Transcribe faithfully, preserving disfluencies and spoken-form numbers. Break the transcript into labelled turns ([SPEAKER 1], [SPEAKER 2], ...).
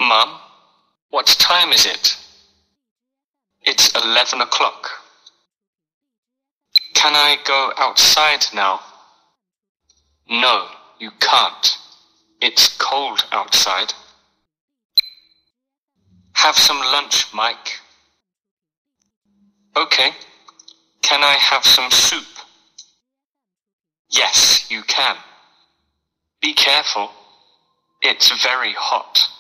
[SPEAKER 1] Mum, what time is it? It's eleven o'clock. Can I go outside now? No, you can't. It's cold outside. Have some lunch, Mike. Okay. Can I have some soup? Yes, you can. Be careful. It's very hot.